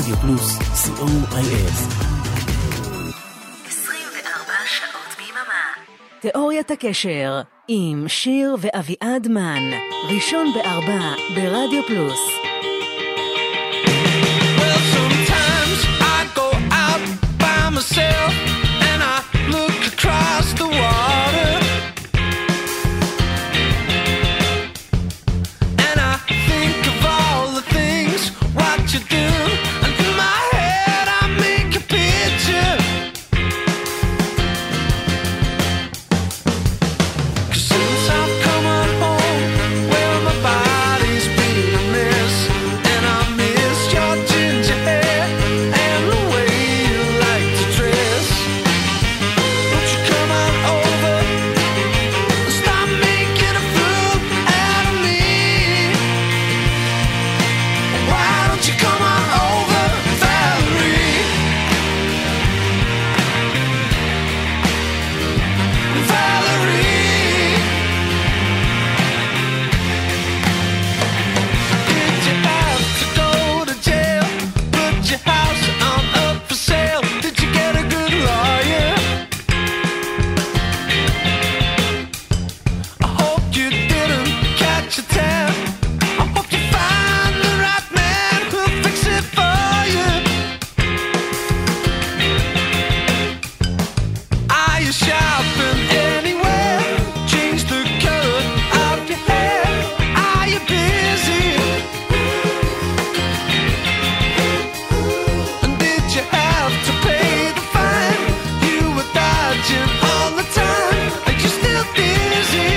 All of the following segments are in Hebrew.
רדיו פלוס, COIS. 24 שעות ביממה. תיאוריית הקשר עם שיר ואביעד מן, ראשון ב4 ברדיו פלוס. Well, sometimes I go out by myself and I look across the water and I think of all the things what you do, and in my head I make a picture. 'Cause since I've come on home, well, my body's been a mess, and I miss your ginger hair and the way you like to dress. Won't you come on over and stop making a fool out of me? Why don't you come on over, Valerie? Valerie, did you have to go to jail? Put your house on up for sale? Did you get a good lawyer? I hope you didn't catch a tab. I hope you find the right man who'll fix it for you. Are you shopping anywhere? Change the color of your hair. Are you busy? And did you have to pay the fine? You were dodging all the time. Are you still dizzy?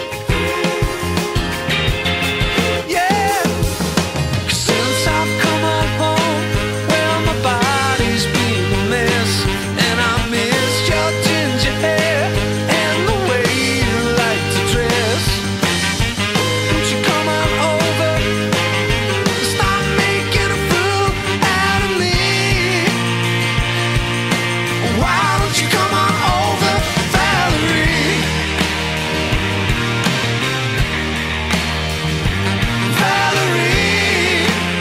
Yeah. 'Cause since I've come on home, well, my body's been a mess, and I miss your ginger hair and the way you like to dress. Won't you come on over and stop making a fool out of me? Why don't you come on over, Valerie? Valerie,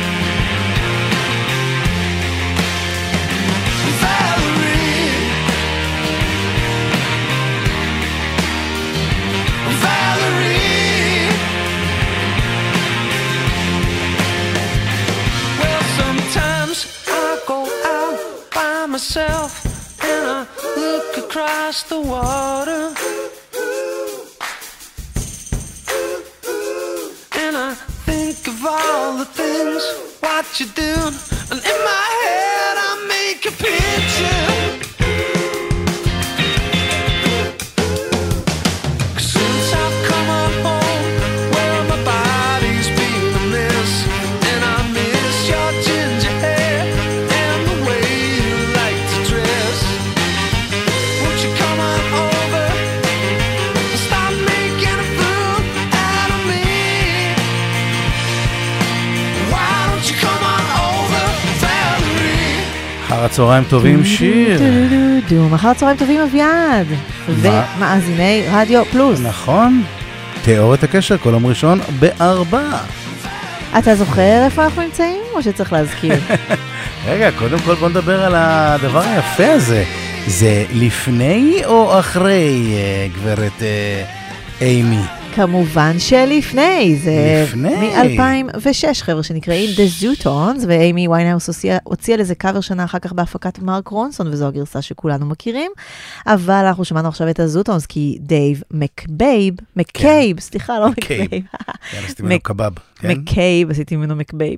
Valerie, well, sometimes I go out by myself and I look across the water and I think of all the things what you do, and in my head I make a picture. 'Cause since I've come on home, well, my body's been a mess, and I miss your ginger hair and the way you like to dress. Won't you come on over and stop making a fool out of me? Why don't you come on over, Valerie? אחר הצהריים טובים, שיר. אחר צהריים טובים, אביעד. ומאזיני רדיו פלוס. נכון. תיאוריית הקשר, כל יום ראשון ב4. אתה זוכר איפה אנחנו נמצאים, או שצריך להזכיר? רגע, קודם כל בוא נדבר על הדבר היפה הזה. זה לפני או אחרי, גברת אימי? כמובן שלפני, זה לפני. מ-2006, חבר'ה שנקראים The Zutons, ואימי ויינהאוס הוציאה לזה קאבר שנה אחר כך בהפקת מרק רונסון, וזו הגרסה שכולנו מכירים, אבל אנחנו שמענו עכשיו את הזוטונס, כי דייב מקייב, סליחה, לא מקבייב. עשיתי ממנו קבב. מקייב, עשיתי ממנו מקבייב.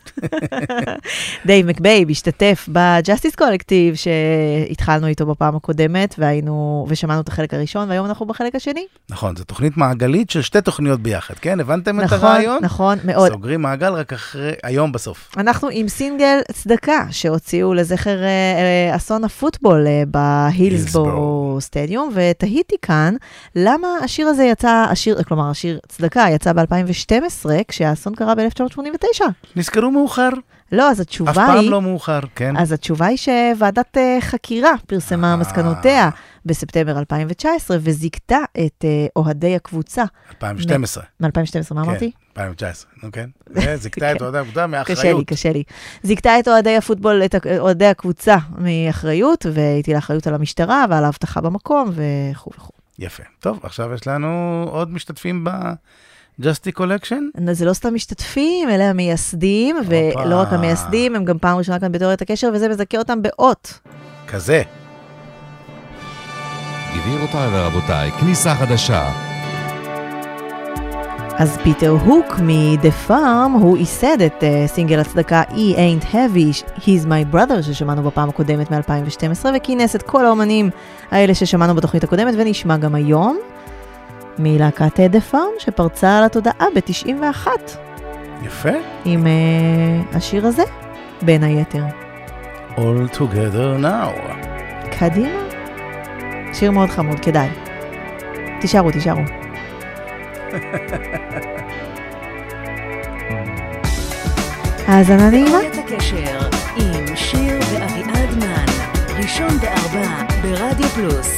דייב מקבייב השתתף בג'סטיס קולקטיב שהתחלנו איתו בפעם הקודמת ושמענו את החלק הראשון, והיום אנחנו בחלק השני. נכון, זו תוכנית מעגלית של שתי תוכניות ביחד, כן? הבנתם את הרעיון? נכון, מאוד. סוגרים מעגל רק אחרי, היום בסוף. אנחנו עם סינגל צדקה שהוציאו לזכר אסון הפוטבול בהילסבורו סטדיום, ותהיתי כאן למה השיר הזה יצא, כלומר השיר צדקה יצא ב-2012, כשהאסון קרה ב-1989. נזכרו מאוחר. לא, אז התשובה אף היא... פעם לא מאוחר, כן. אז התשובה היא שוועדת חקירה פרסמה מסקנותיה בספטמבר 2019, וזיקתה את אוהדי הקבוצה. 2012. מ-2012, מה אמרתי? 2019, נו כן. זיקתה את אוהדי הקבוצה מאחריות. קשה לי. זיקתה את אוהדי הפוטבול, את אוהדי הקבוצה מאחריות, והטילה אחריות על המשטרה ועל האבטחה במקום וכו' וכו'. יפה. טוב, עכשיו יש לנו עוד משתתפים ב-Justy Collection? זה לא סתם משתתפים, אלה המייסדים, ולא רק המייסדים, הם גם פעם ראשונה כאן בתיאוריית הקשר, וזה מזכה אותם באות. כזה. גבירותיי ורבותיי, כניסה חדשה. אז פיטר הוק מ-The Farm, הוא ייסד את סינגל הצדקה He Ain't Heavy, He's My Brother, ששמענו בפעם הקודמת מ-2012, וכינס את כל האומנים האלה ששמענו בתוכנית הקודמת, ונשמע גם היום מלהקת The Farm, שפרצה על התודעה ב-91. יפה. עם השיר הזה, בין היתר. All Together Now. קדימה. שיר מאוד חמוד, כדאי. תישארו. האזנה נעימה. תיאוריית הקשר עם שיר ואביעד מן, ראשון ב-4 ברדיו פלוס.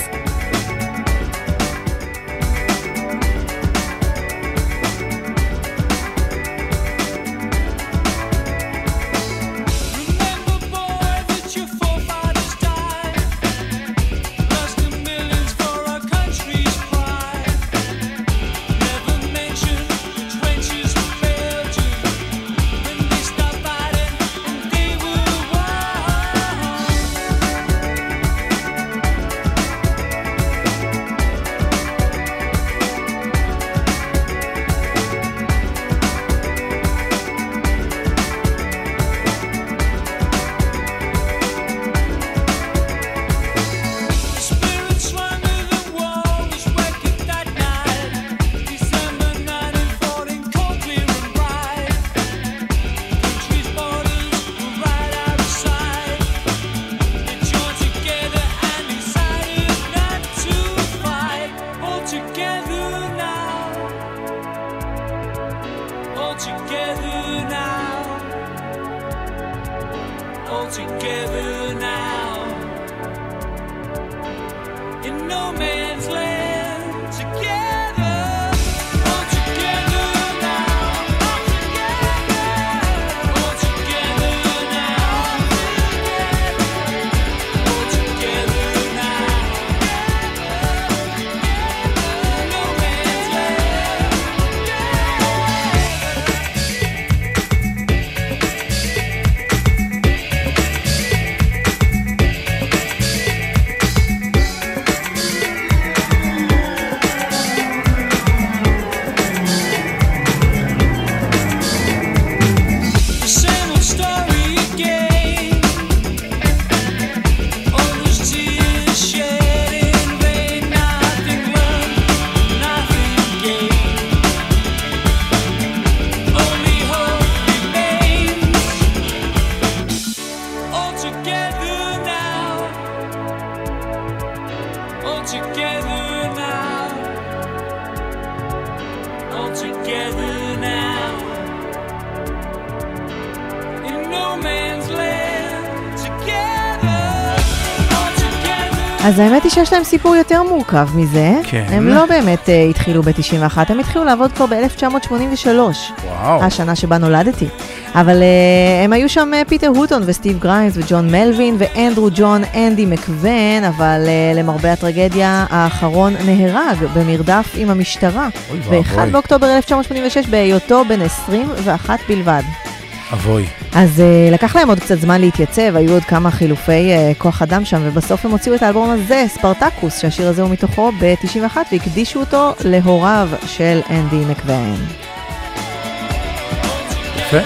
אז האמת היא שיש להם סיפור יותר מורכב מזה. כן. הם לא באמת התחילו ב-91, הם התחילו לעבוד כבר ב-1983. וואו. השנה שבה נולדתי. אבל הם היו שם פיטר הוטון וסטיב גריימס וג'ון מלווין ואנדרו ג'ון אנדי מקוון, אבל למרבה הטרגדיה האחרון נהרג במרדף עם המשטרה. ב-1 באוקטובר 1986 בהיותו בן 21 בלבד. אבוי. אז לקח להם עוד קצת זמן להתייצב, היו עוד כמה חילופי כוח אדם שם, ובסוף הם הוציאו את האלבום הזה, ספרטקוס, שהשיר הזה הוא מתוכו ב-91, והקדישו אותו להוריו של אנדי מקוון. יפה.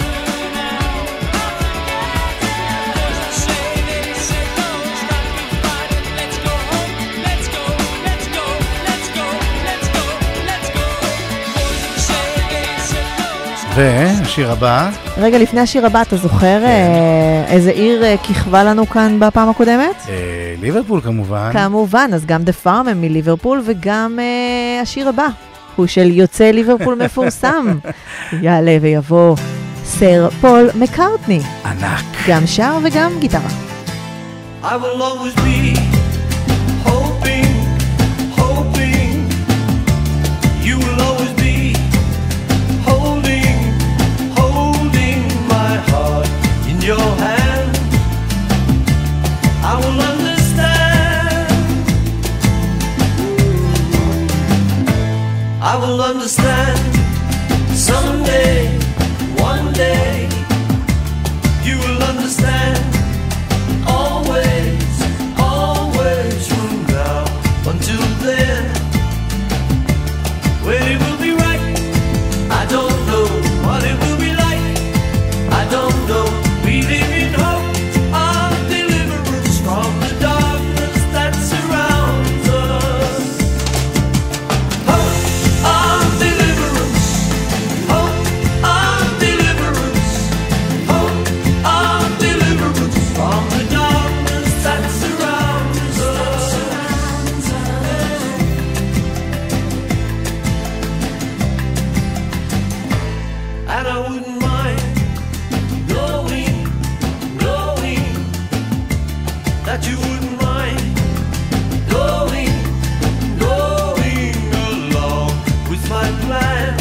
והשיר הבא. רגע, לפני השיר הבא, אתה זוכר איזה עיר כיכבה לנו כאן בפעם הקודמת? ליברפול כמובן. כמובן, אז גם The Farm הם מליברפול, וגם השיר הבא הוא של יוצא ליברפול מפורסם. יעלה ויבוא סר פול מקארטני. I ענק. גם שר וגם גיטרה. I will always be hoping, hoping. You will always be holding, holding my heart in your hand. I will understand. I will understand someday, one day. You will understand. Always, always from now until then. When it will be right, I don't know what it will be like. I don't know. We live in hope of deliverance from the darkness that surrounds us. Hope of deliverance. Hope of deliverance. Hope of deliverance from the darkness that surrounds us. And I wouldn't mind knowing that you wouldn't mind going along with my plan.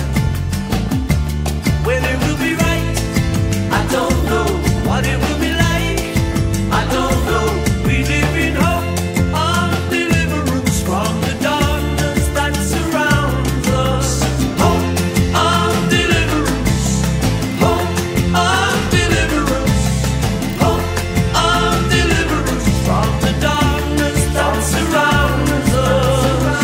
When it will be right, I don't know what it will be like. I don't know. We live in hope of deliverance from the darkness that surrounds us. Hope of deliverance. Hope of deliverance. Hope of deliverance from the darkness that surrounds us.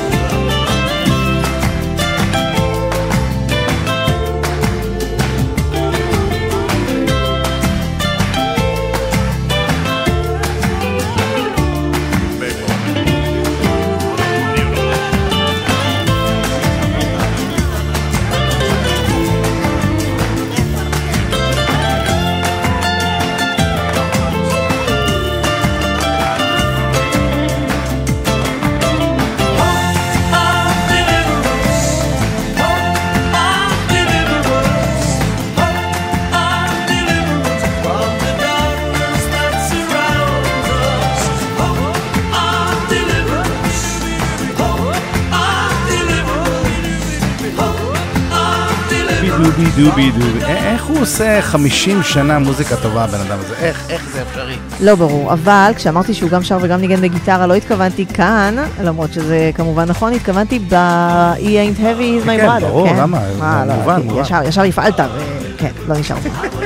דובי דובי דובי. איך הוא עושה 50 שנה מוזיקה טובה, הבן אדם הזה? איך זה אפשרי? לא ברור, אבל כשאמרתי שהוא גם שר וגם ניגן בגיטרה, לא התכוונתי כאן, למרות שזה כמובן נכון, התכוונתי ב-E ain't heavy is my brother. כן, ברור, למה? מובן. ישר הפעלת, כן, לא נשאר.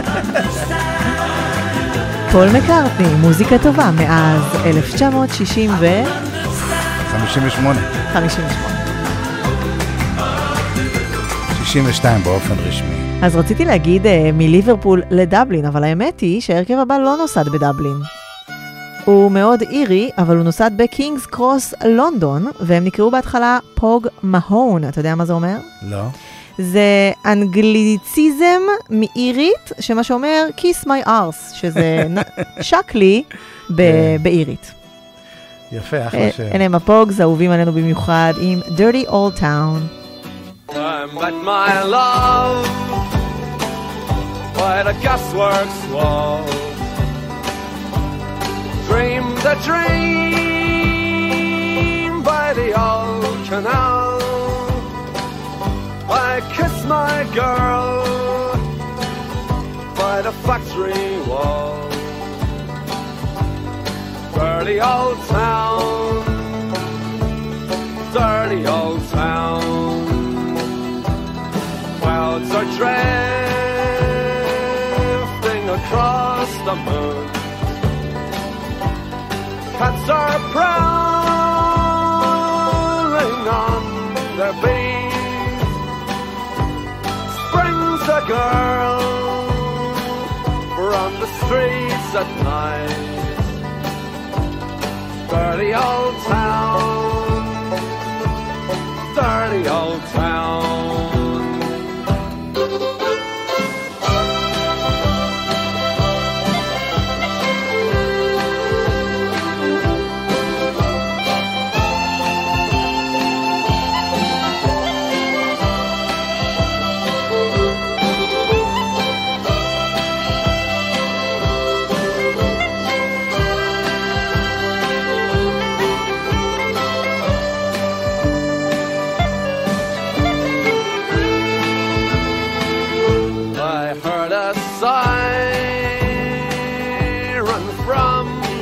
פול מקארטני, מוזיקה טובה, מאז 1958. 62 באופן רשמי. אז רציתי להגיד מליברפול לדבלין, אבל האמת היא שהרכב הבא לא נוסד בדבלין. הוא מאוד אירי, אבל הוא נוסד בקינגס קרוס לונדון, והם נקראו בהתחלה פוג מהון. אתה יודע מה זה אומר? לא. זה אנגליציזם מאירית, שמה שאומר kiss my arse, שזה שקלי באירית. יפה, אחלה שם. אלה הם הפוגס, אהובים עלינו במיוחד עם Dirty Old Town. I'm at my love by the gasworks wall. Dreamed a dream by the old canal. I kiss my girl by the factory wall. Dirty old town, dirty old town. Clouds are drifting across the moon. Cats are prowling on their beat. Springs a girl from the streets at night. Dirty old town, dirty old town.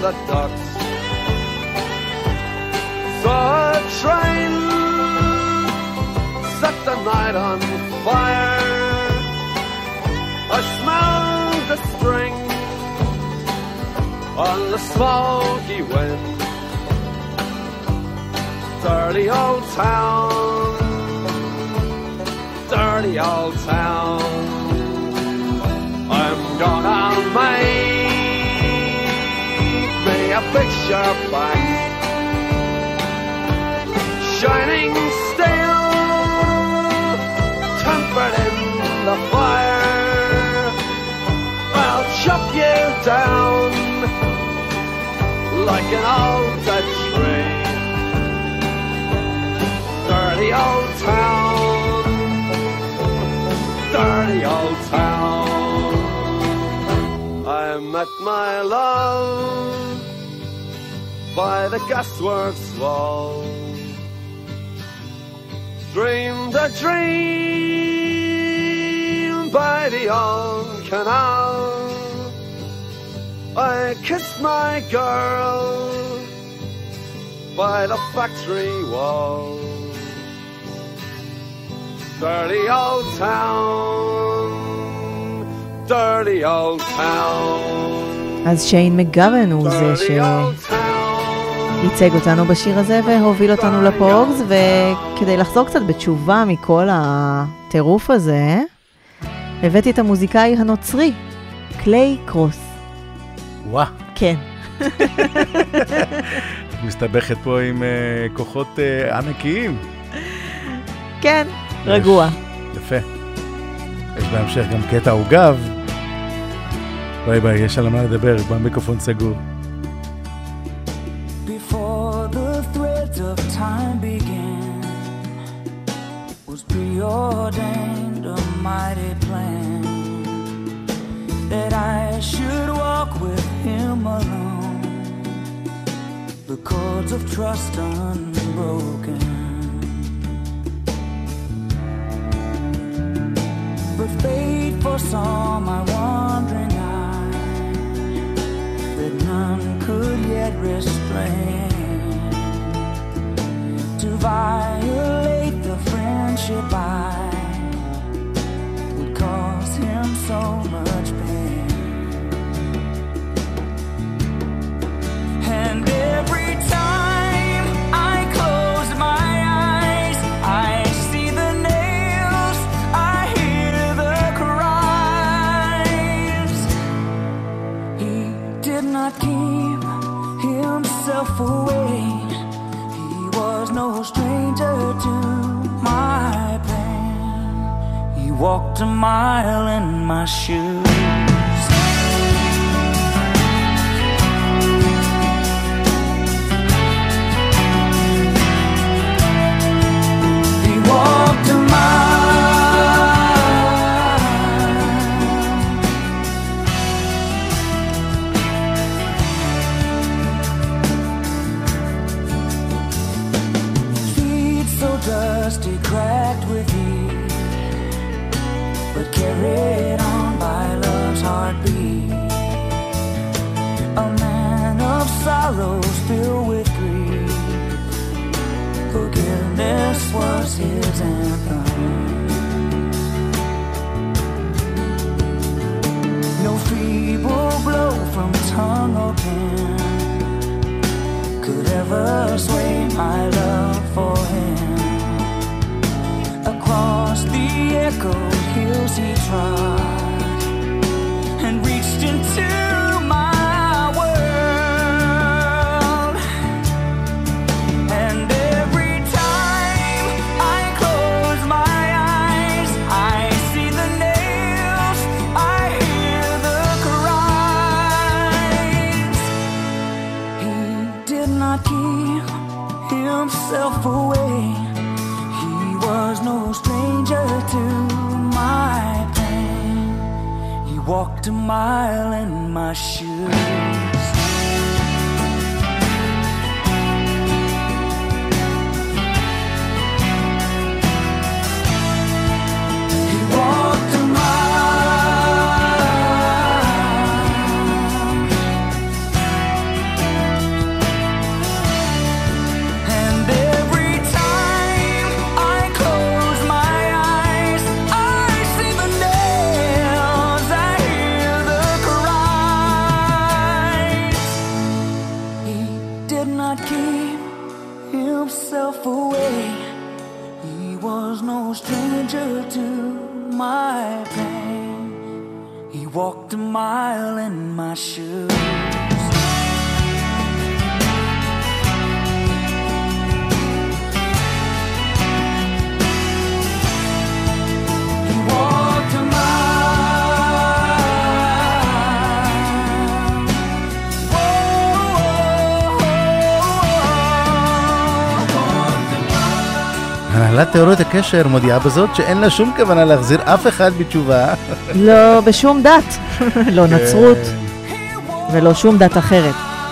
the ducks. Saw a train set the night on fire. I smelled the string on the smoky wind. Dirty old town, dirty old town. I'm gonna make me a picture back, shining steel, tempered in the fire. I'll chop you down like an old dead tree. Dirty old town, dirty old town. I met my love by the gasworks wall. Dreamed a dream by the old canal. I kissed my girl by the factory wall. Dirty old town, dirty old town. אז שיין מגוון הוא זה שייצג אותנו בשיר הזה והוביל אותנו לפוגס, וכדי לחזור קצת בתשובה מכל הטירוף הזה, הבאתי את המוזיקאי הנוצרי, קליי קרוס. וואה. כן. את מסתבכת פה עם כוחות ענקיים. כן, רגוע. יפה. יש בהמשך גם קטע עוגב. ביי ביי, יש על מה לדבר, במיקרופון סגור. Before the threads of time began, was preordained a mighty plan, that I should walk with him alone, the cords of trust unbroken. But fate foresaw my wandering eye, that none could yet restrain. To violate the friendship I would cause him so much pain. And every time I close my eyes, I see the nails, I hear the cries. He did not keep himself away. He was no stranger to my pain. He walked a mile in my shoes. He walked a dusty, cracked with heat, but carried on by love's heartbeat. A man of sorrows filled with grief, forgiveness was his anthem. No feeble blow from tongue or pen could ever sway my love for him. Across the echoed hills he trod and reached into my world. And every time I close my eyes, I see the nails, I hear the cries. He did not keep himself away. Was no stranger to my pain. He walked a mile in my shoes. He walked a mile. stranger to my pain. He walked a mile in my shoes. He walked a mile. הנהלת תיאוריות הקשר מודיעה בזאת שאין לה שום כוונה להחזיר אף אחד בתשובה. לא בשום דת, לא נצרות ולא שום דת אחרת.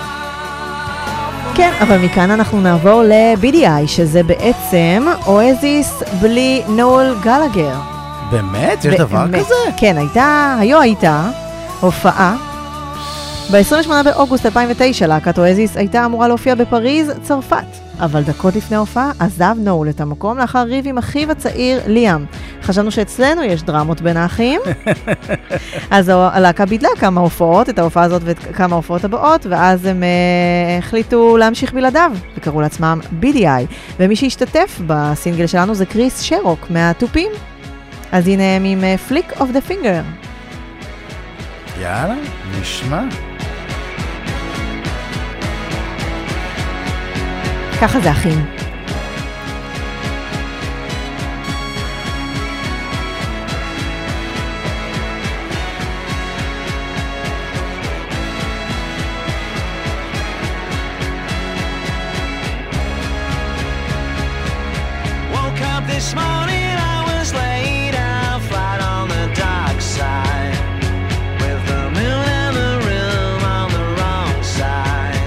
כן, אבל מכאן אנחנו נעבור ל-BDI, שזה בעצם אואזיס בלי נואל גלגר. באמת? יש דבר כזה? כן, הייתה הופעה. ב-28 באוגוסט 2009 להקת אואזיס הייתה אמורה להופיע בפריז, צרפת. אבל דקות לפני ההופעה עזב נואל את המקום לאחר ריב עם אחיו הצעיר ליאם. חשבנו שאצלנו יש דרמות בין האחים. אז הלהקה ביטלה כמה הופעות, את ההופעה הזאת וכמה הופעות הבאות, ואז הם החליטו להמשיך בלעדיו, וקראו לעצמם BDI. ומי שהשתתף בסינגל שלנו זה קריס שרוק מהטופים. אז הנה הם עם Flick of the Finger. יאללה, נשמע. ככה זה אחים. Woke up this morning, I was laid out flat on the dark side, with the moon and the room on the wrong side.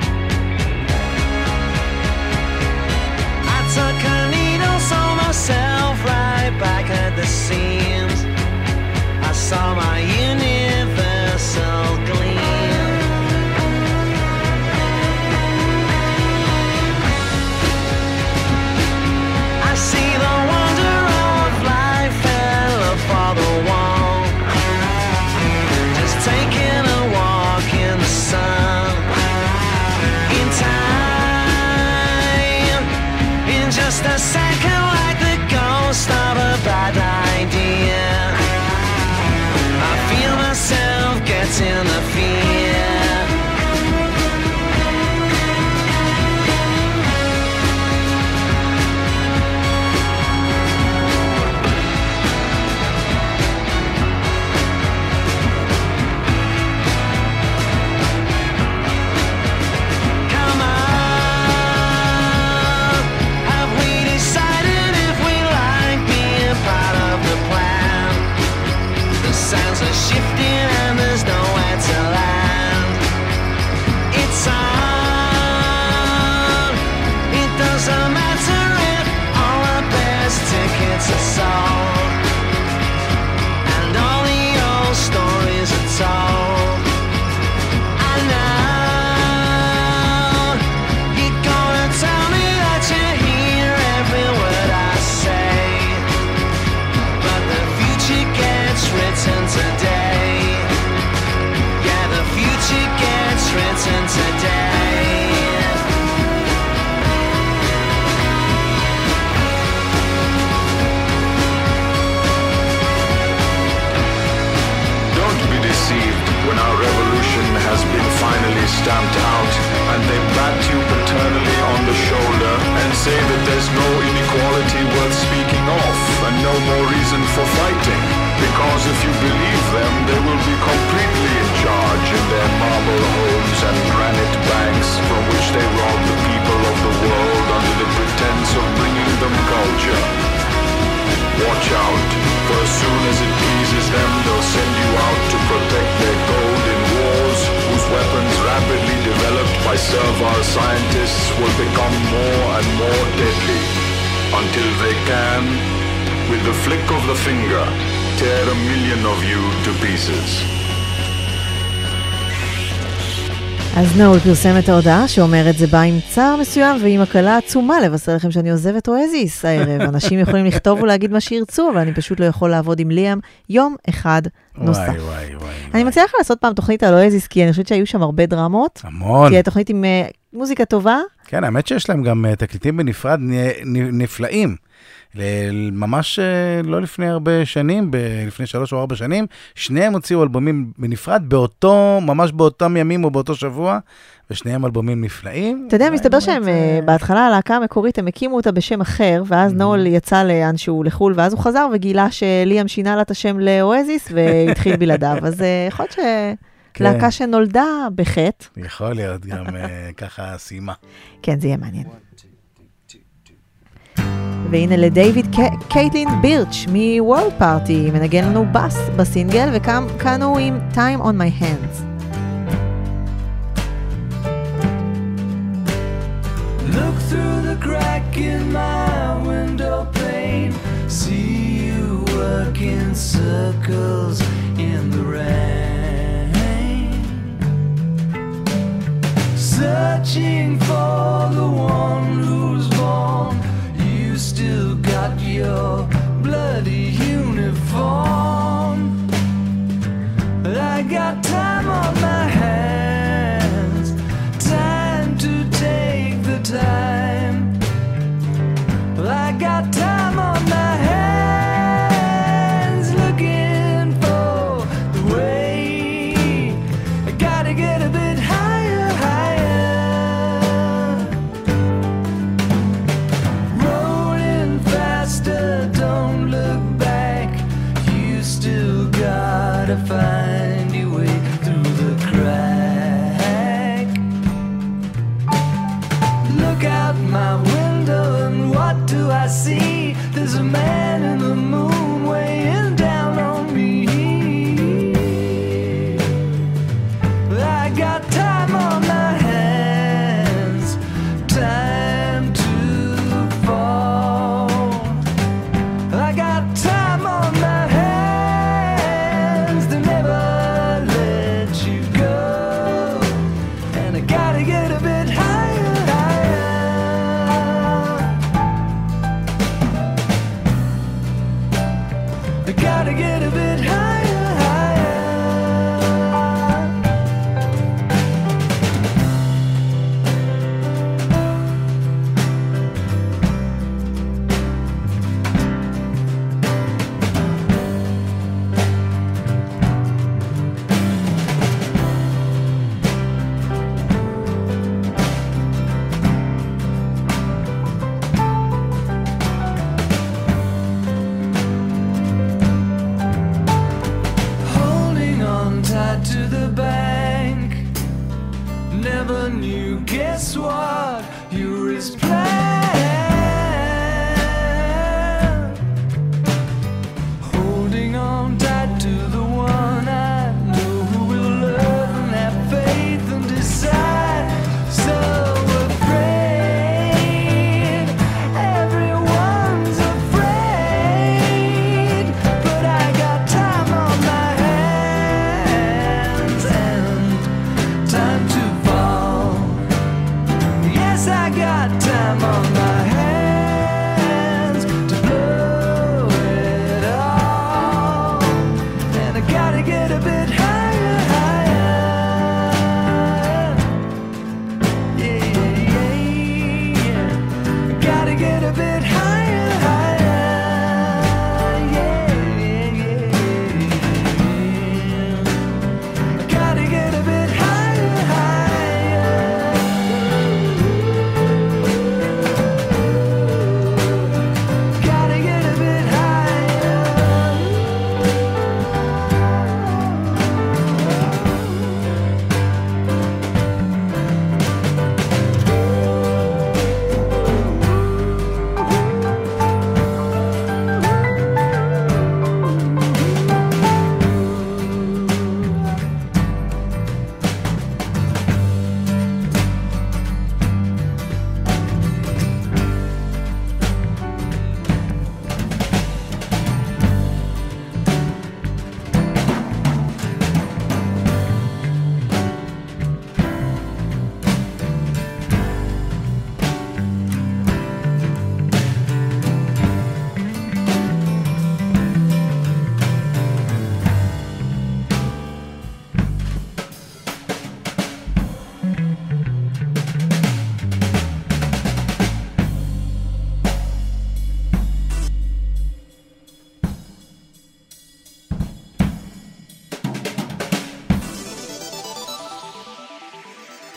I took a needle, saw myself right back at the seams. I saw my universal gleam. I see the wonder of life and look for the wall. Just taking a walk in the sun. In time, in just a second, like the ghost of a bad idea, I feel myself getting the fear. Come on, have we decided if we like being part of the plan? The sands are shifting and there's nowhere to land. It's on. It doesn't matter if all the best tickets are sold and all the old stories are told. I know you're gonna tell me that you hear every word I say, but the future gets written today. Yeah, the future gets written today. Don't be deceived when our revolution has been finally stamped out and they bat you paternally on the shoulder and say that there's no inequality worth speaking of and no more reason for fighting. Because if you believe them, they will be completely in charge in their marble homes and granite banks from which they rob the people of the world under the pretense of bringing them culture. Watch out, for as soon as it pleases them, they'll send you out to protect their gold in wars whose weapons rapidly developed by servile scientists will become more and more deadly, until they can, with the flick of the finger, tear 1,000,000 of you to pieces. אז נואל פרסם את ההודעה שאומרת זה בא עם צער מסוים ועם הקלה עצומה לבשר לכם שאני עוזב את אואזיס הערב. אנשים יכולים לכתוב ולהגיד מה שירצו, אבל אני פשוט לא יכול לעבוד עם ליאם יום אחד נוסף. אני מציעה לך לעשות פעם תוכנית על אואזיס, כי אני חושבת שהיו שם הרבה דרמות. המון. כי התוכנית עם מוזיקה טובה. כן, האמת שיש להם גם תקליטים בנפרד נפלאים. ממש לא לפני הרבה שנים, לפני 3 או 4 שנים, שניהם הוציאו אלבומים בנפרד, ממש באותם ימים או באותו שבוע, ושניהם אלבומים נפלאים. אתה יודע, מסתבר שהם בהתחלה, הלהקה המקורית, הם הקימו אותה בשם אחר, ואז נול יצא לאנשהו לחול, ואז הוא חזר וגילה שליאם שינה לה את השם לאואזיס, והתחיל בלעדיו. אז יכול להיות להקה שנולדה בחטא. יכול להיות גם ככה סיימה. כן, זה יהיה מעניין. והנה לדייוויד קייטלין בירץ' מוורלד פארטי, מנגן לנו בס בסינגל, וכאנו עם Time on My Hands. Look through the crack in my window pane, see you working circles in the rain, searching for the one who's born. You still got your bloody uniform. I got time on my hands, time to take the time. I got time on my hands, looking for the way. I gotta get a bit higher, higher. Rolling faster, don't look back. You still gotta find your way through the crack. Look out my window and what do I see? There's a man in the moon weighing down on me. I got time on my hands, time to fall. I got time on my hands to never let you go. And I gotta get a bit higher, higher. I gotta get a bit higher, higher.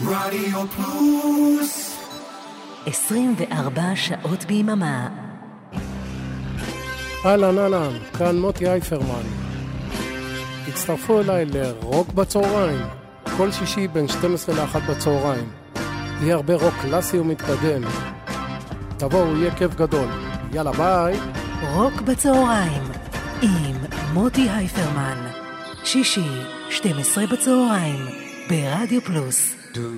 רדיו פלוס 24 שעות ביממה. אהלן, כאן מוטי אייפרמן. הצטרפו אליי לרוק בצהריים, כל שישי בין 12 ל-1 בצהריים. יהיה הרבה רוק קלאסי ומתקדם. תבואו, יהיה כיף גדול. יאללה, ביי. רוק בצהריים עם מוטי הייפרמן, שישי 12 בצהריים ברדיו פלוס.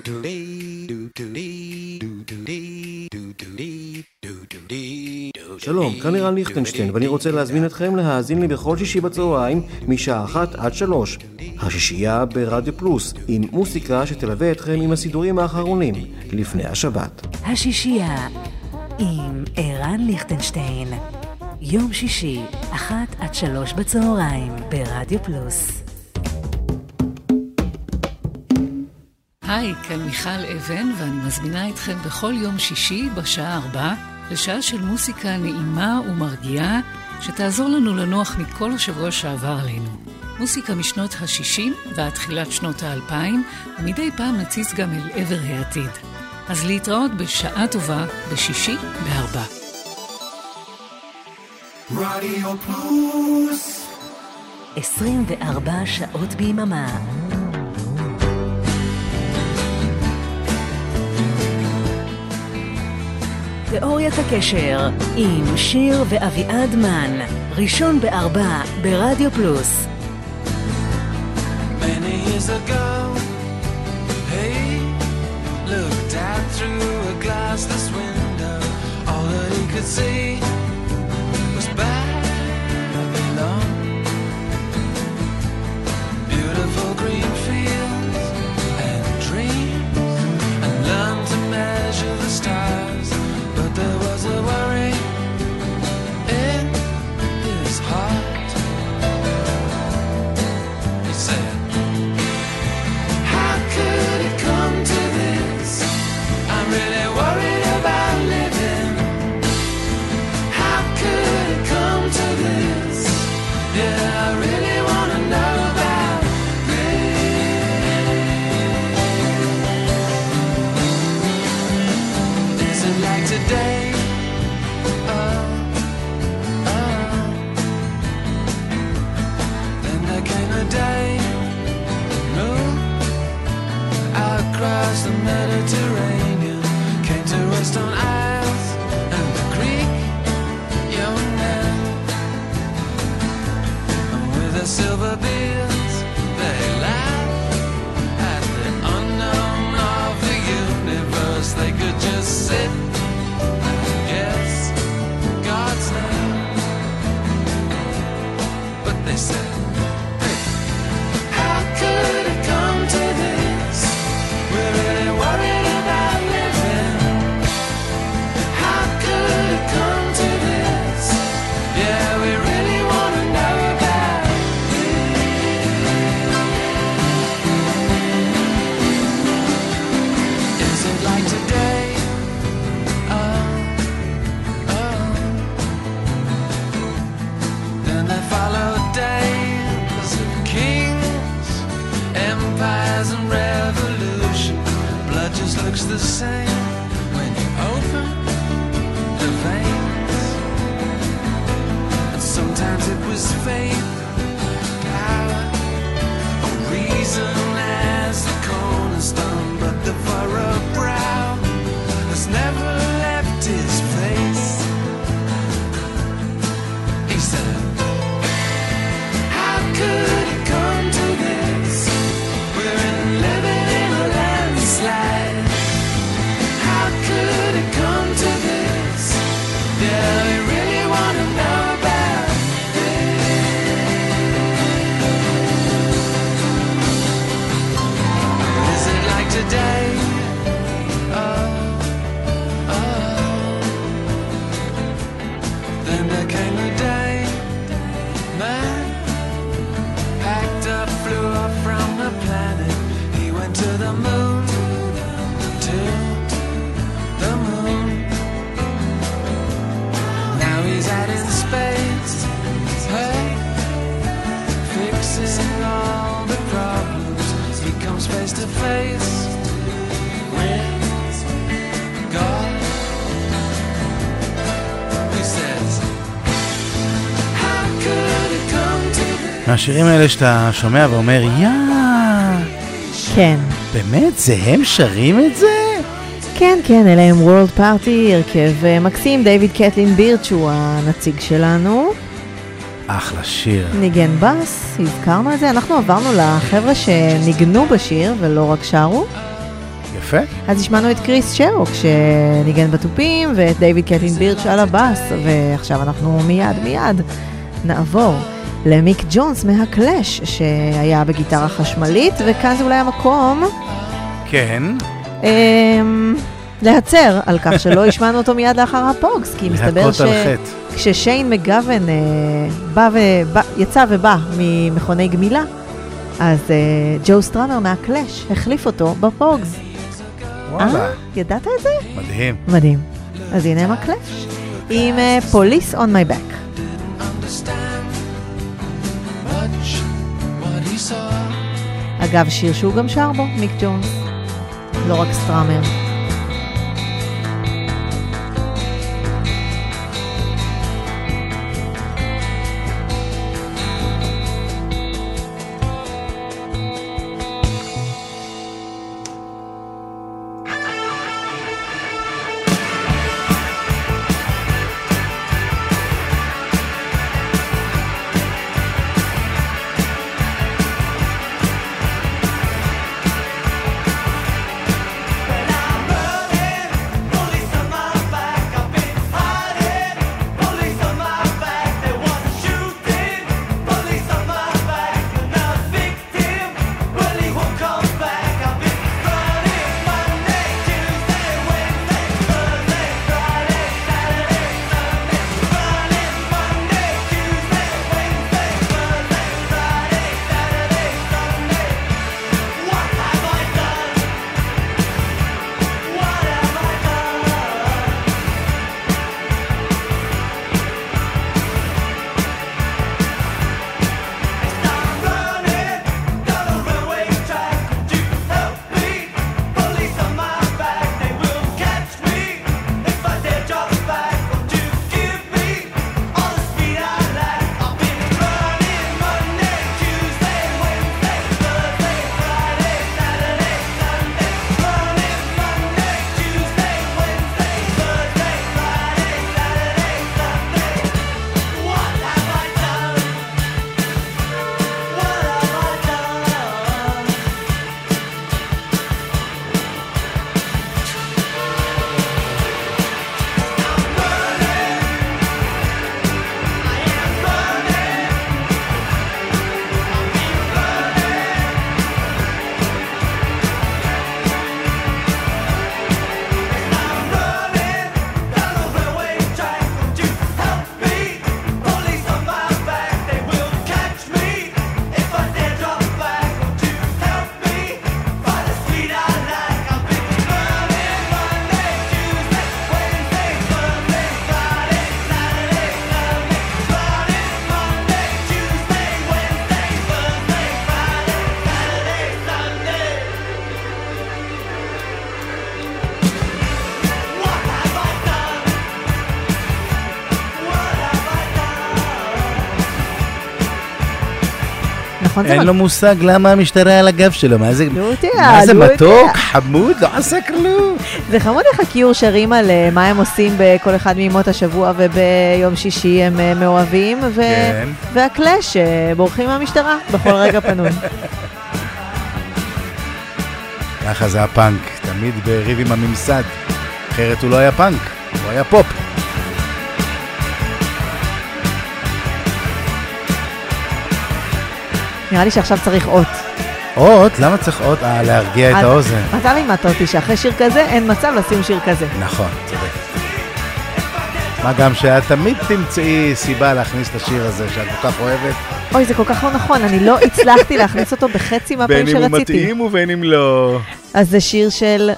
שלום, כאן לירן ליכטנשטיין, ואני רוצה להזמין אתכם להאזין לי בכל שישי בצהריים משעה 1 עד 3. השישייה ברדיו פלוס, עם מוסיקה שתלווה אתכם עם הסידורים האחרונים לפני השבת. השישייה עם ערן ליכטנשטיין, יום שישי 1 עד 3 בצהריים ברדיו פלוס. היי, כאן מיכל אבן, ואני מזמינה אתכם בכל יום שישי בשעה 4 לשעה של מוסיקה נעימה ומרגיעה שתעזור לנו לנוח מכל השבוע שעבר עלינו. מוסיקה משנות ה-60 ועד תחילת שנות ה-2000, ומדי פעם נציץ גם אל עבר העתיד. אז להתראות בשעה טובה בשישי ב-4. רדיו פלוס 24 שעות ביממה. תיאוריית הקשר עם שיר ואביעד מן, ראשון ב-4 ברדיו פלוס. Many years ago, hey, looked out through a glassless window. All that he could see was Babylon. Beautiful green fields and dreams, and learned to measure the stars. But there was a worry in his heart. He said, how could it come to this? I'm really worried about living. How could it come to this? Yeah, I really want to know about this. Is it like today? Then there came a day, across the Mediterranean, came to rest on isles and the Greek young men, and with their silver beards they laughed at the unknown of the universe. They could just sit and guess God's name, but they said, hey, how could it come to this? We're really worried about living. How could it come to this? Yeah, we really want to know about it. Is it like today? Then there followed days of kings, empires and revolution. Blood just looks the same when you open the veins. And sometimes it was faith, power, or reason as the cornerstone. But the furrowed brow has never left his face. He said, how could it come to this? We're living in a landslide. How could it come to this? Yeah, we really want to know about this. מהשירים האלה שאתה שומע ואומר, כן. באמת? זה הם שרים את זה? כן, כן, אלה הם וורלד פארטי, הרכב מקסים, דיוויד קטלין בירץ' הוא הנציג שלנו. אחלה שיר. ניגן בס, הזכרנו את זה, אנחנו עברנו לחבר'ה שניגנו בשיר ולא רק שרו. יפה. אז השמענו את קריס שרוק שניגן בתופים ואת דיוויד קטלין בירץ' על הבס, ועכשיו אנחנו מיד נעבור למיק ג'ונס מהקלאש שהיה בגיטרה חשמלית, וכאן זה אולי המקום כן להצר על כך שלא השמענו אותו מיד לאחר הפוגס, כי מסתבר כששיין מגוון יצא ובא ממכוני גמילה, אז ג'ו סטראמר מהקלאש החליף אותו בפוגס. וואלה. ידעת את זה? מדהים. מדהים. אז הנה הם הקלאש עם Police on My Back. אגב, שיר שהוא גם שר בו, מיק ג'ונס, לא רק סטראמר. אין לו מושג למה המשטרה על הגב שלו, מה זה מתוק, חמוד, לא עשה כלום. זה חמוד איך הקיור שרים על מה הם עושים בכל אחד מימות השבוע, וביום שישי הם מאוהבים, והקלאש בורחים מהמשטרה בכל רגע פנוי. ככה זה הפאנק, תמיד בריב עם הממסד, אחרת הוא לא היה פאנק, הוא היה פופ. נראה לי שעכשיו צריך אות. אות? למה צריך אות? להרגיע את האוזן. אתה לימדת אותי שאחרי שיר כזה אין מצב לשים שיר כזה. נכון, צודק. מה גם שאת תמיד תמצאי סיבה להכניס את השיר הזה שאת כל כך אוהבת. אוי, זה כל כך לא נכון, אני לא הצלחתי להכניס אותו בחצי מהפעמים שרציתי. בין אם הוא מתאים ובין אם לא. אז זה שיר של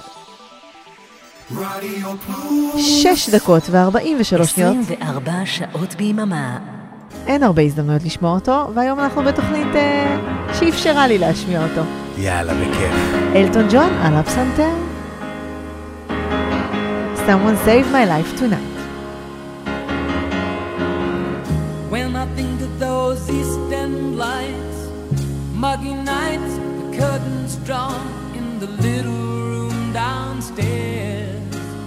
6 דקות ו43 שניות. 24 שעות ביממה. אין הרבה הזדמנויות לשמוע אותו, והיום אנחנו בתוכנית שאפשרה לי להשמיע אותו. יאללה, בכיף. אלטון ג'ון על הפסנתר. Someone saved my life tonight. When I think of those East End lights muggy nights, the curtains drawn in the little room downstairs.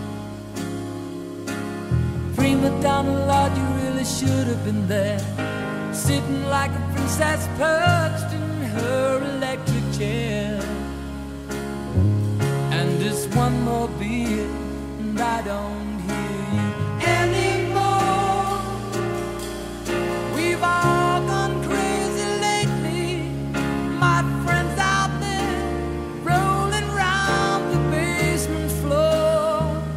Prima donna, Lord, you really should have been there, sitting like a princess perched in her electric chair. And just one more beer, and I don't hear you anymore. We've all gone crazy lately, my friends out there rolling round the basement floor.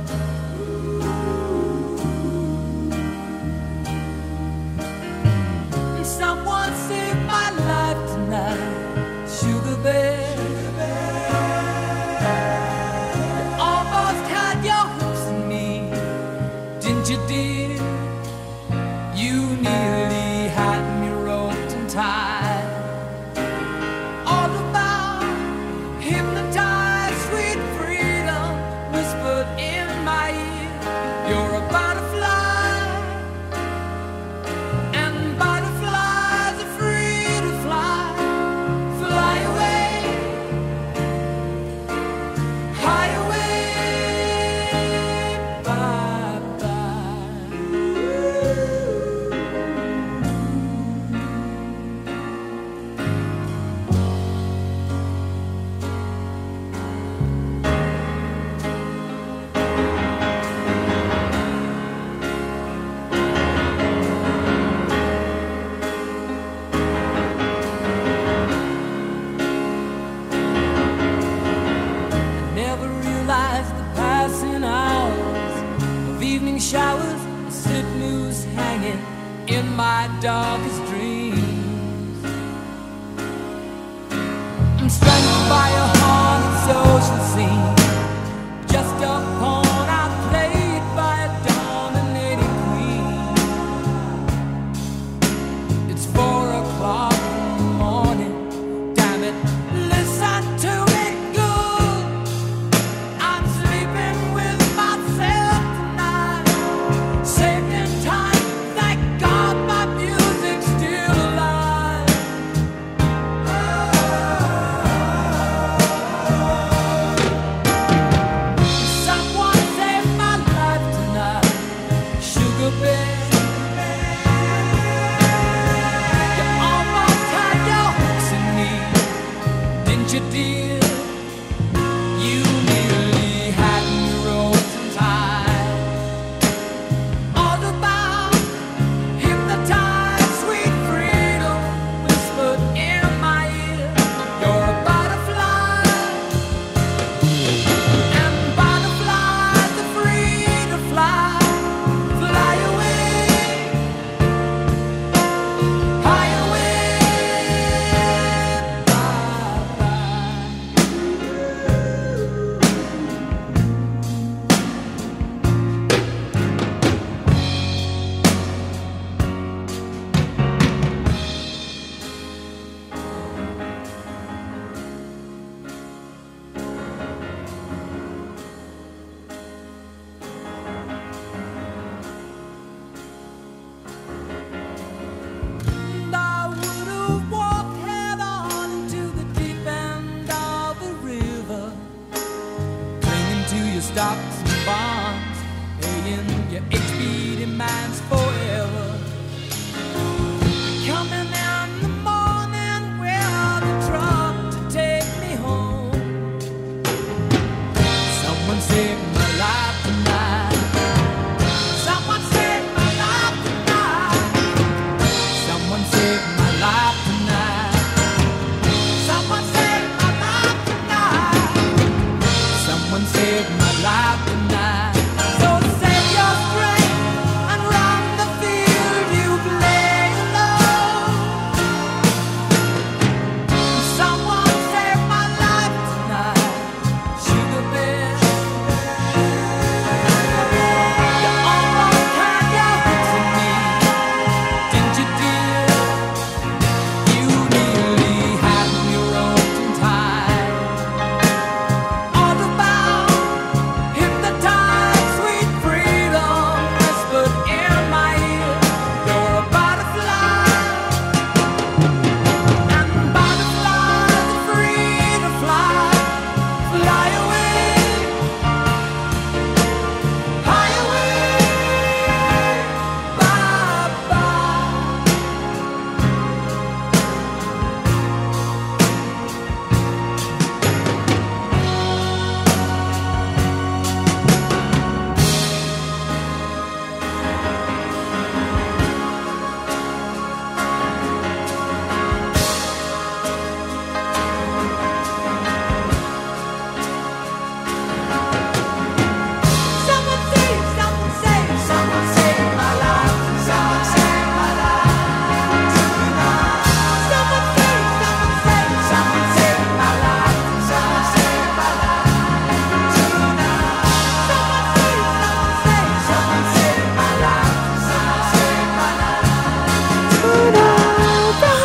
And someone saved my life tonight, Sugar Bear. You did. You nearly had me roped and tied. All about hypnotized, sweet freedom whispered in my ear. You're a butterfly, and butterflies are free to fly. Fly away, high away. Showers, slip noose hanging in my darkest dreams. I'm strangled by a haunted social scene, just a pawn outplayed by a dominating queen. It's 4 o'clock in the morning, damn it, listen to me good. I'm sleeping with myself tonight. Saved in time, thank God my music's still alive.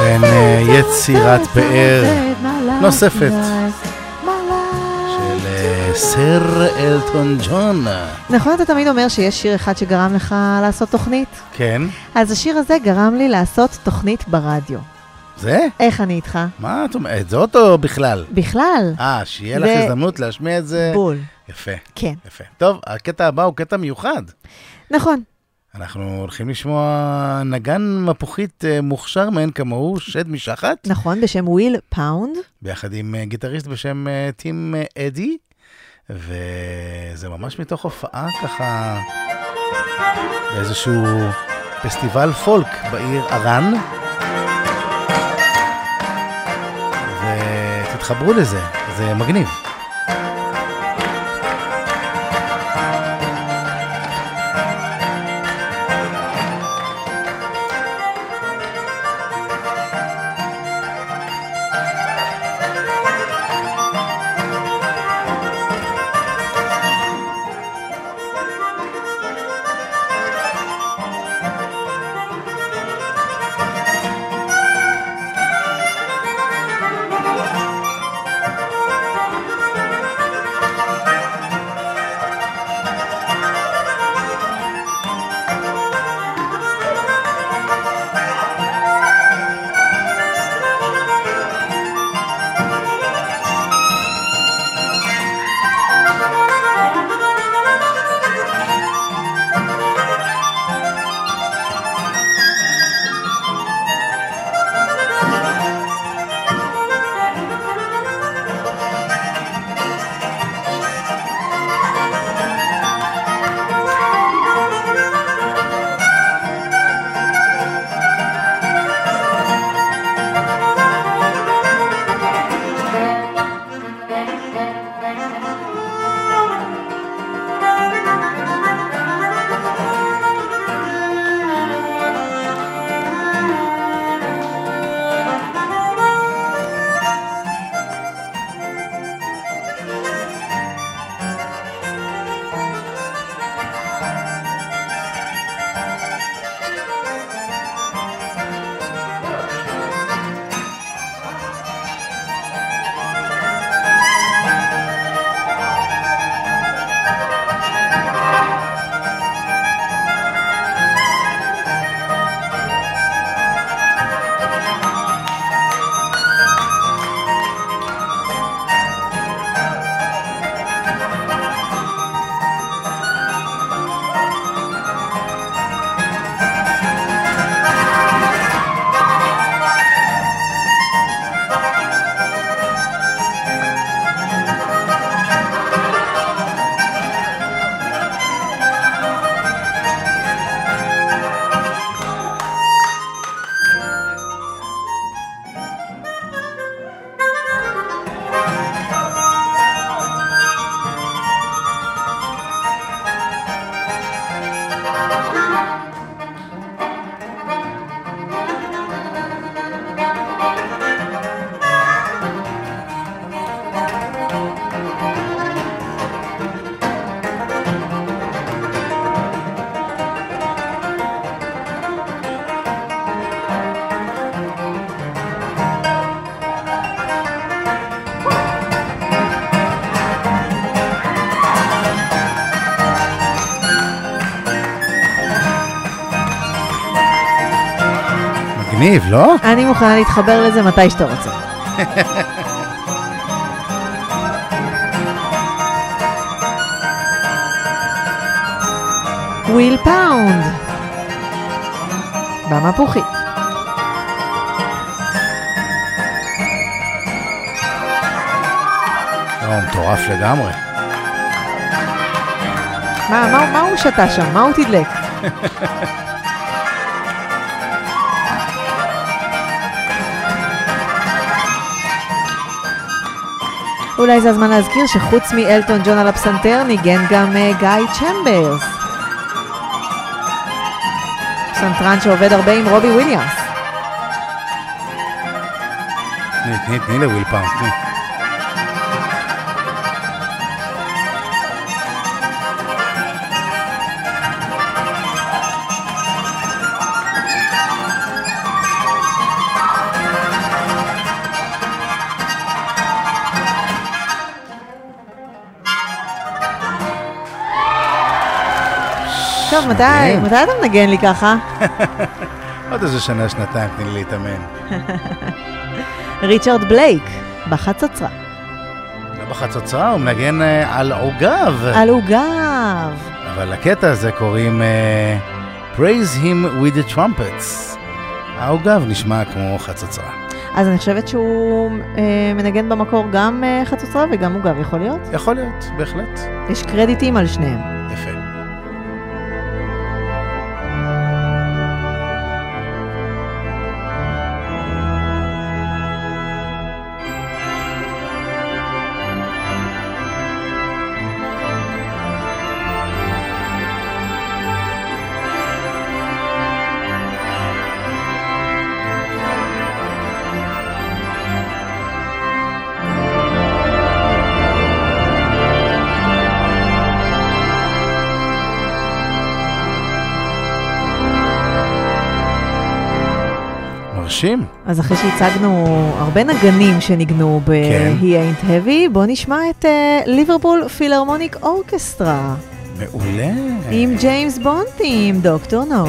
ובכן, יצירת פאר נוספת של סר אלטון ג'ון. נכון, אתה תמיד אומר שיש שיר אחד שגרם לך לעשות תוכנית? כן. אז השיר הזה גרם לי לעשות תוכנית ברדיו. זה? איך אני איתך? מה את אומרת? זה אותו בכלל? בכלל. שיהיה לך הזדמנות להשמיע את זה. בול. יפה. כן. יפה. טוב, הקטע הבא הוא קטע מיוחד. נכון. אנחנו הולכים לשמוע נגן מפוחית מוכשר מעין כמוהו, שד משחת. נכון, בשם וויל פאונד. ביחד עם גיטריסט בשם טים אדי, וזה ממש מתוך הופעה ככה באיזשהו פסטיבל פולק בעיר ארן. ותתחברו לזה, זה מגניב. מגניב, לא? אני מוכנה להתחבר לזה מתי שאתה רוצה. וויל פאונד במפוחית. מטורף לגמרי. מה הוא שתה שם? מה הוא תדלק? אולי זה הזמן להזכיר שחוץ מאלטון ג'ון על הפסנתר ניגן גם גיא צ'מברס, פסנתרן שעובד הרבה עם רובי וויליאמס. תני לוויל פאונד, תני. טוב, מתי אתה מנגן לי ככה? עוד איזה שנה, שנתיים, תני לי להתאמן. ריצ'רד בלייק, בחצוצרה. לא בחצוצרה, הוא מנגן על עוגב. על עוגב. אבל לקטע הזה קוראים Praise Him with the Trumpets. העוגב נשמע כמו חצוצרה. אז אני חושבת שהוא מנגן במקור גם חצוצרה וגם עוגב, יכול להיות? יכול להיות, בהחלט. יש קרדיטים על שניהם. יפה. אז אחרי שהצגנו הרבה נגנים שניגנו ב-He Ain't Heavy, בוא נשמע את ליברפול פילהרמוניק אורקסטרה. מעולה. עם ג'יימס בונד, עם דוקטור נו.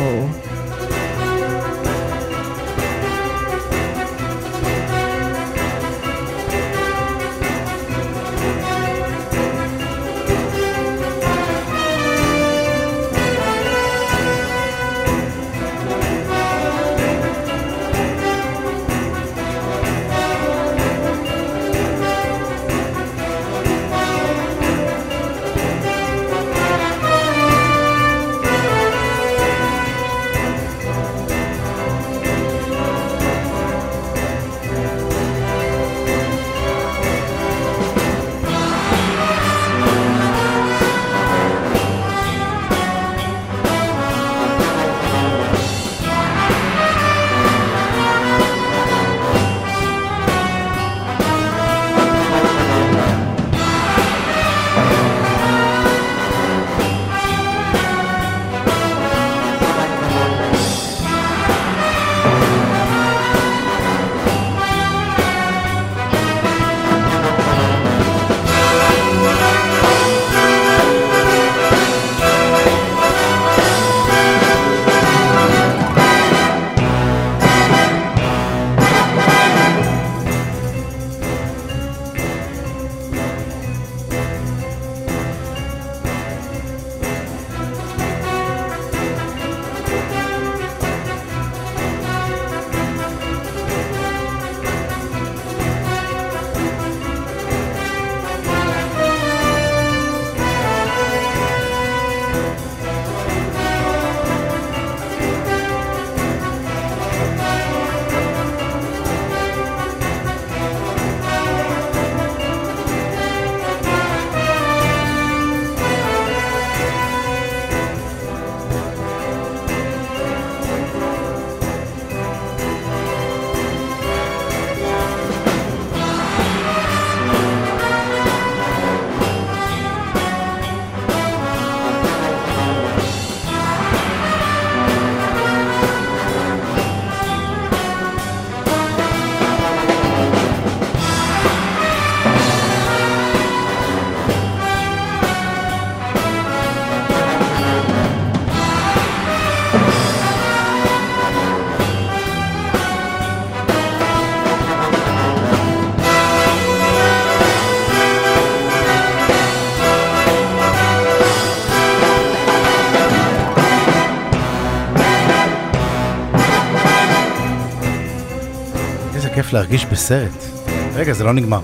כיף להרגיש בסרט. רגע, זה לא נגמר.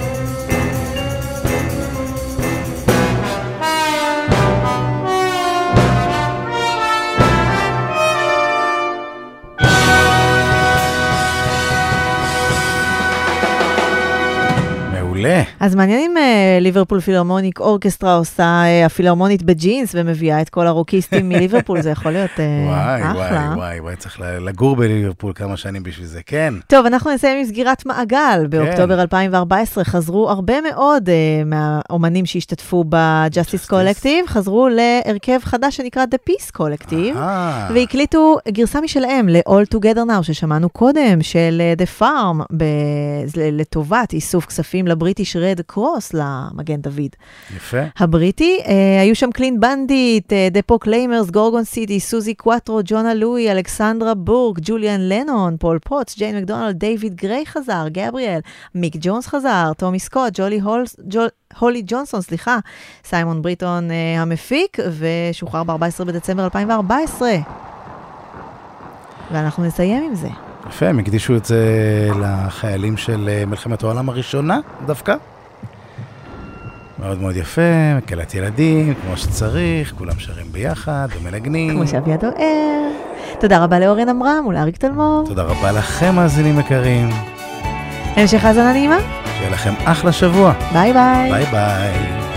אז מעניין אם ליברפול פילהרמוניק אורקסטרה עושה הפילהרמונית בג'ינס ומביאה את כל הרוקיסטים מליברפול, זה יכול להיות אחלה. וואי, צריך לגור בליברפול כמה שנים בשביל זה, כן. טוב, אנחנו נסיים עם סגירת מעגל. באוקטובר 2014 חזרו הרבה מאוד מהאומנים שהשתתפו בג'אסטיס קולקטיב, חזרו להרכב חדש שנקרא The Peace Collective, והקליטו גרסה משלהם ל-All Together Now, ששמענו קודם, של The Farm, לטובת איסוף כספים לברית הבריטיש רד קרוס למגן דוד. יפה. הבריטי, היו שם קלין בנדיט, דפו קליימרס, גורגון סיטי, סוזי קואטרו, ג'ונה לואי, אלכסנדרה בורק, ג'וליאן לנון, פול פוטס, ג'יין מקדונלד, דיוויד גריי חזר, גבריאל, מיק ג'ונס חזר, טומי סקוט, הולי ג'ונסון, סיימון בריטון המפיק, ושוחרר ב-14 בדצמבר 2014. ואנחנו נסיים עם זה. יפה, הם הקדישו את זה לחיילים של מלחמת העולם הראשונה, דווקא. מאוד מאוד יפה, מקהלת ילדים, כמו שצריך, כולם שרים ביחד, ומנגנים. כמו שאביעד אוהר. תודה רבה לאורן אמרם ולאריק תלמור. תודה רבה לכם, מאזינים יקרים. המשך האזנה נעימה. שיהיה לכם אחלה שבוע. ביי ביי. ביי ביי.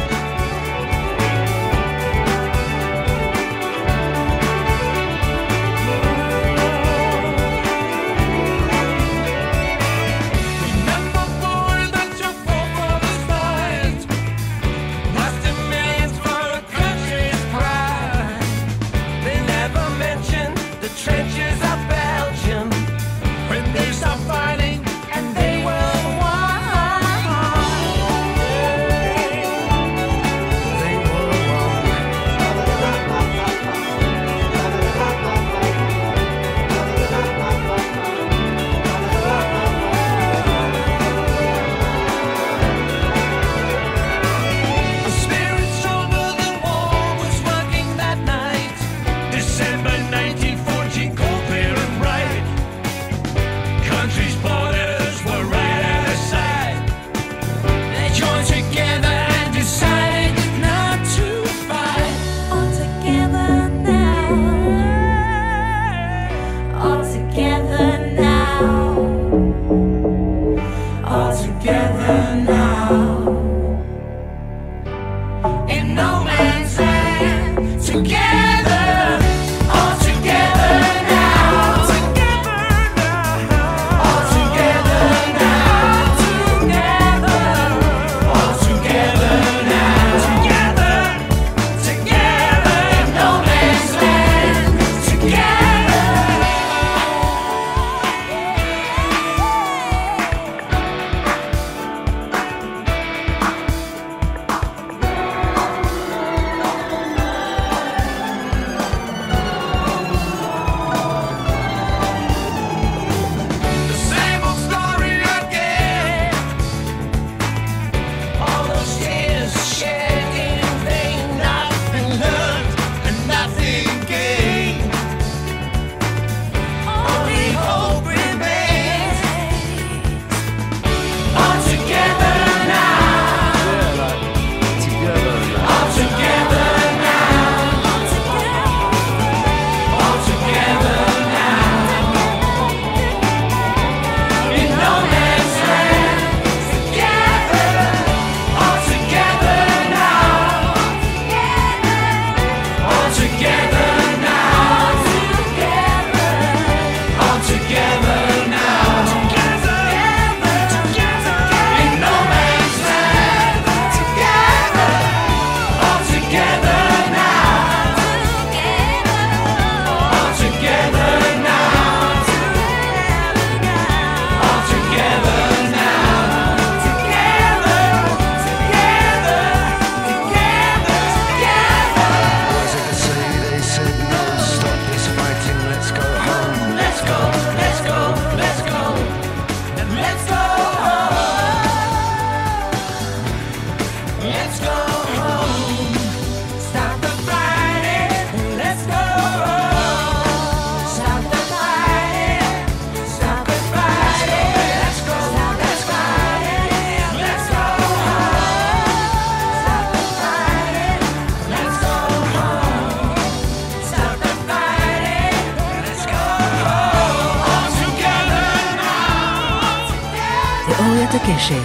תיאוריית הקשר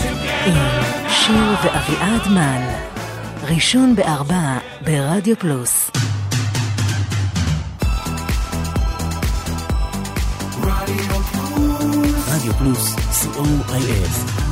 עם שיר ואביעד מן, ראשון ב4 ברדיו פלוס. רדיו פלוס, co.il